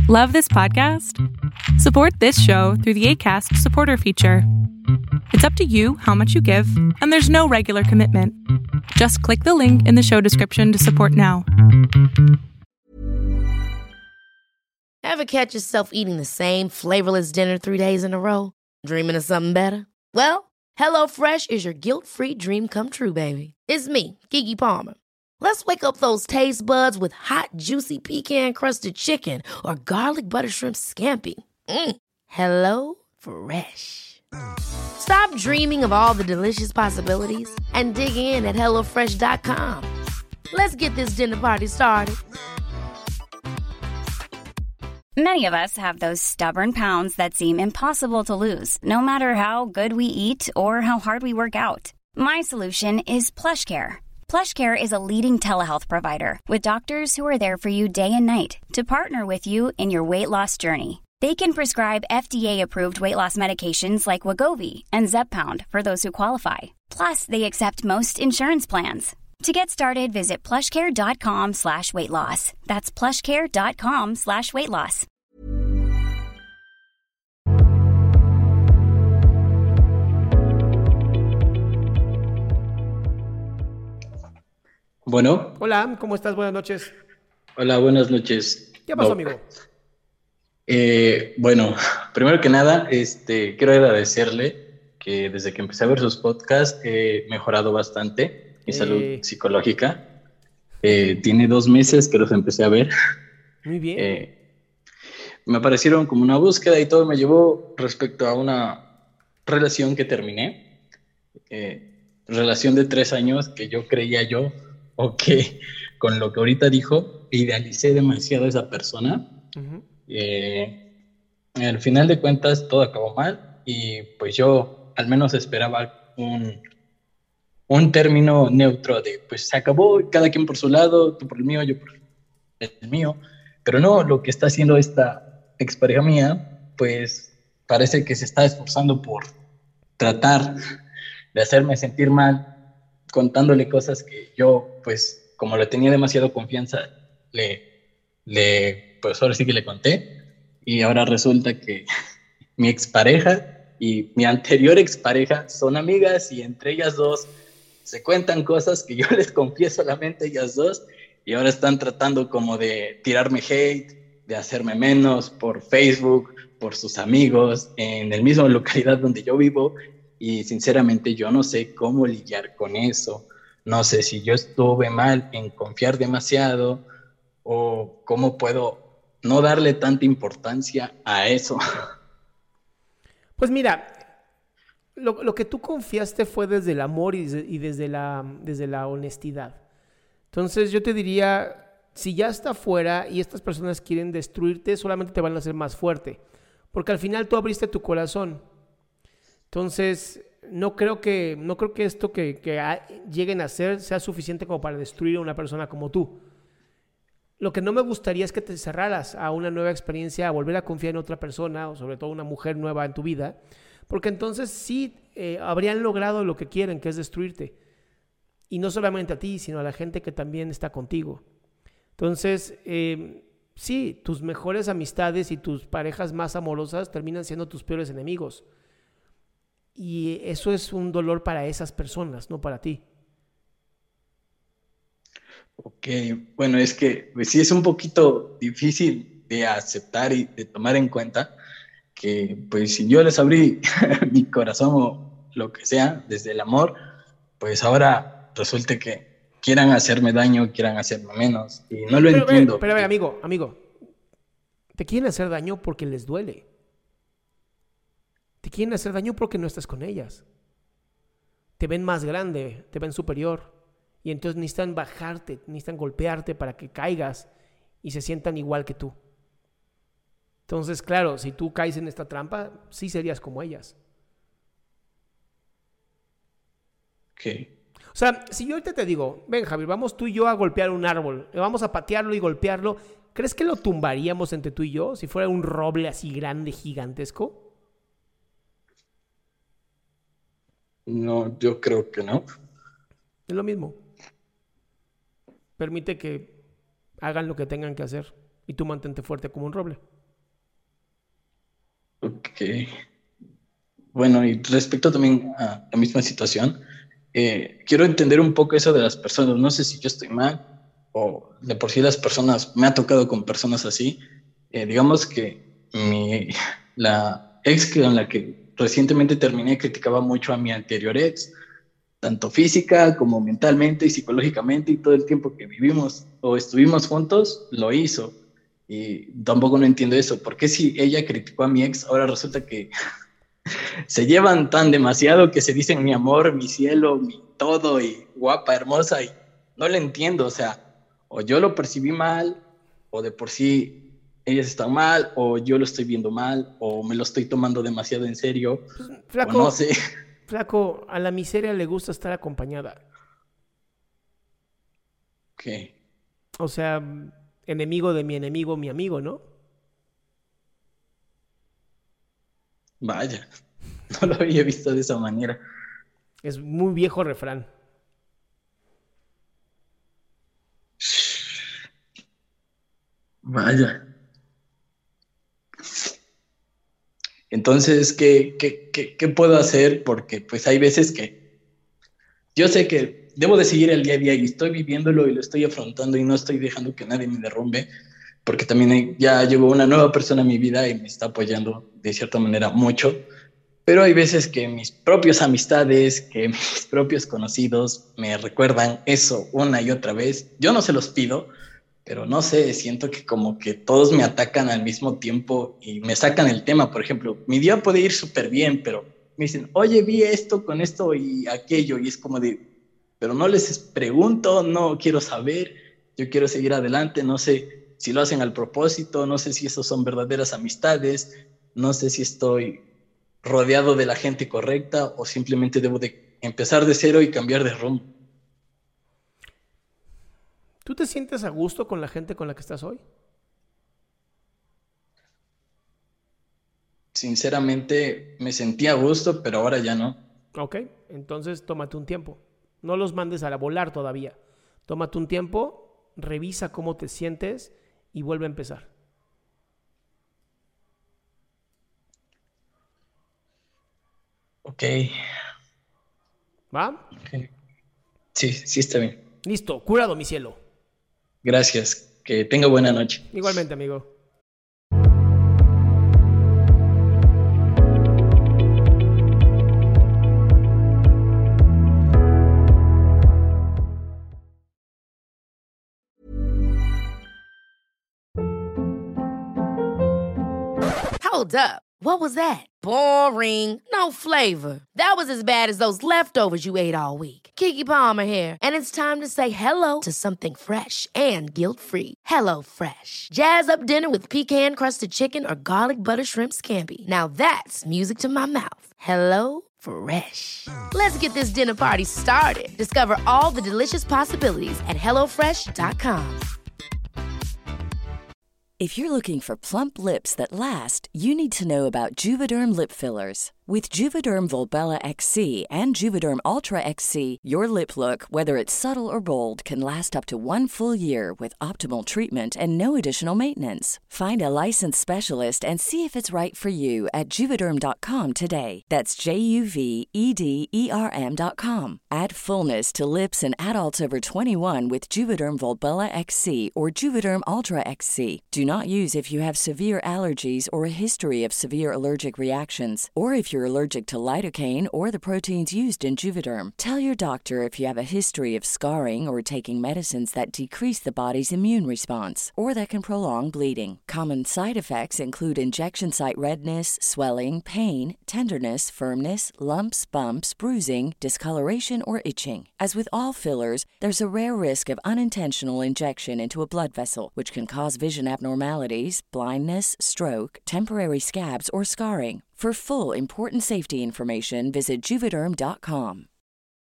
Love this podcast? Support this show through the Acast supporter feature. It's up to you how much you give, and there's no regular commitment. Just click the link in the show description to support now. Ever catch yourself eating the same flavorless dinner 3 days in a row? Dreaming of something better? Well, HelloFresh is your guilt-free dream come true, baby. It's me, Keke Palmer. Let's wake up those taste buds with hot, juicy pecan-crusted chicken or garlic butter shrimp scampi. Hello Fresh. Stop dreaming of all the delicious possibilities and dig in at HelloFresh.com. Let's get this dinner party started. Many of us have those stubborn pounds that seem impossible to lose, no matter how good we eat or how hard we work out. My solution is PlushCare. PlushCare is a leading telehealth provider with doctors who are there for you day and night to partner with you in your weight loss journey. They can prescribe FDA-approved weight loss medications like Wegovy and Zepbound for those who qualify. Plus, they accept most insurance plans. To get started, visit plushcare.com/weightloss. That's plushcare.com/weightloss. Bueno. Hola, ¿cómo estás? Buenas noches. Hola, buenas noches. ¿Qué pasó, Doc. amigo? Bueno, primero que nada, quiero agradecerle que desde que empecé a ver sus podcasts he mejorado bastante mi salud psicológica. Tiene 2 meses que los empecé a ver. Muy bien. Me aparecieron como una búsqueda y todo me llevó respecto a una relación que terminé. Relación de 3 años que yo creía o que con lo que ahorita dijo, idealicé demasiado a esa persona. Uh-huh. Al final de cuentas todo acabó mal y pues yo al menos esperaba un término neutro de pues se acabó, cada quien por su lado, tú por el mío, yo por el mío, pero no, lo que está haciendo esta expareja mía pues parece que se está esforzando por tratar de hacerme sentir mal, contándole cosas que yo, pues, como le tenía demasiado confianza, pues ahora sí que le conté, y ahora resulta que mi expareja y mi anterior expareja son amigas, y entre ellas dos se cuentan cosas que yo les confieso solamente a ellas dos, y ahora están tratando como de tirarme hate, de hacerme menos por Facebook, por sus amigos, en el mismo localidad donde yo vivo. Y sinceramente yo no sé cómo lidiar con eso. No sé si yo estuve mal en confiar demasiado o cómo puedo no darle tanta importancia a eso. Pues mira, lo que tú confiaste fue desde el amor y desde la honestidad. Entonces yo te diría, si ya está fuera y estas personas quieren destruirte, solamente te van a hacer más fuerte. Porque al final tú abriste tu corazón. Entonces, no creo que esto que lleguen a hacer sea suficiente como para destruir a una persona como tú. Lo que no me gustaría es que te cerraras a una nueva experiencia, a volver a confiar en otra persona, o sobre todo una mujer nueva en tu vida, porque entonces sí habrían logrado lo que quieren, que es destruirte. Y no solamente a ti, sino a la gente que también está contigo. Entonces, sí, tus mejores amistades y tus parejas más amorosas terminan siendo tus peores enemigos. Y eso es un dolor para esas personas, no para ti. Ok, bueno, es que pues, sí es un poquito difícil de aceptar y de tomar en cuenta que pues si yo les abrí mi corazón o lo que sea desde el amor, pues ahora resulta que quieran hacerme daño, quieran hacerme menos y no lo entiendo. Pero amigo, te quieren hacer daño porque les duele. Te quieren hacer daño porque no estás con ellas. Te ven más grande, te ven superior. Y entonces necesitan bajarte, necesitan golpearte para que caigas y se sientan igual que tú. Entonces, claro, si tú caes en esta trampa, sí serías como ellas. Ok. O sea, si yo ahorita te digo, ven Javier, vamos tú y yo a golpear un árbol, vamos a patearlo y golpearlo, ¿crees que lo tumbaríamos entre tú y yo si fuera un roble así grande, gigantesco? No, yo creo que no. Es lo mismo. Permite que hagan lo que tengan que hacer y tú mantente fuerte como un roble. Ok. Bueno, y respecto también a la misma situación, quiero entender un poco eso de las personas. No sé si yo estoy mal o de por sí las personas, me ha tocado con personas así. Digamos que la ex con la que recientemente terminé criticaba mucho a mi anterior ex, tanto física como mentalmente y psicológicamente, y todo el tiempo que vivimos o estuvimos juntos, lo hizo. Y tampoco no entiendo eso. ¿Por qué si ella criticó a mi ex, ahora resulta que se llevan tan demasiado que se dicen mi amor, mi cielo, mi todo y guapa, hermosa y no le entiendo, o sea, o yo lo percibí mal o de por sí ellas están mal o yo lo estoy viendo mal o me lo estoy tomando demasiado en serio o no Flaco, sé. flaco, a la miseria le gusta estar acompañada. ¿Qué? O sea, enemigo de mi enemigo, mi amigo, ¿no? Vaya, no lo había visto de esa manera. Es muy viejo refrán. Vaya. Entonces, ¿qué puedo hacer? Porque pues hay veces que yo sé que debo de seguir el día a día y estoy viviéndolo y lo estoy afrontando y no estoy dejando que nadie me derrumbe, porque también ya llegó una nueva persona a mi vida y me está apoyando de cierta manera mucho, pero hay veces que mis propias amistades, que mis propios conocidos me recuerdan eso una y otra vez. Yo no se los pido, pero no sé, siento que como que todos me atacan al mismo tiempo y me sacan el tema. Por ejemplo, mi día puede ir súper bien, pero me dicen, oye, vi esto con esto y aquello, y es como de, pero no les pregunto, no quiero saber, yo quiero seguir adelante, no sé si lo hacen al propósito, no sé si esos son verdaderas amistades, no sé si estoy rodeado de la gente correcta o simplemente debo de empezar de cero y cambiar de rumbo. ¿Tú te sientes a gusto con la gente con la que estás hoy? Sinceramente me sentía a gusto, pero ahora ya no. Ok, entonces tómate un tiempo. No los mandes a la volar todavía. Tómate un tiempo, revisa cómo te sientes y vuelve a empezar. Ok, ¿Va? ok. Sí, sí está bien. Listo, curado mi cielo. Gracias. Que tenga buena noche. Igualmente, amigo. Hold up. What was that? Boring. No flavor. That was as bad as those leftovers you ate all week. Keke Palmer here, and it's time to say hello to something fresh and guilt-free. Hello Fresh. Jazz up dinner with pecan-crusted chicken or garlic butter shrimp scampi. Now that's music to my mouth. Hello Fresh. Let's get this dinner party started. Discover all the delicious possibilities at hellofresh.com. If you're looking for plump lips that last, you need to know about Juvederm lip fillers. With Juvederm Volbella XC and Juvederm Ultra XC, your lip look, whether it's subtle or bold, can last up to 1 full year with optimal treatment and no additional maintenance. Find a licensed specialist and see if it's right for you at Juvederm.com today. That's JUVEDERM.com. Add fullness to lips in adults over 21 with Juvederm Volbella XC or Juvederm Ultra XC. Do not use if you have severe allergies or a history of severe allergic reactions, or if you're allergic to lidocaine or the proteins used in Juvederm. Tell your doctor if you have a history of scarring or taking medicines that decrease the body's immune response or that can prolong bleeding. Common side effects include injection site redness, swelling, pain, tenderness, firmness, lumps, bumps, bruising, discoloration, or itching. As with all fillers, there's a rare risk of unintentional injection into a blood vessel, which can cause vision abnormalities, blindness, stroke, temporary scabs, or scarring. For full, important safety information, visit Juvederm.com.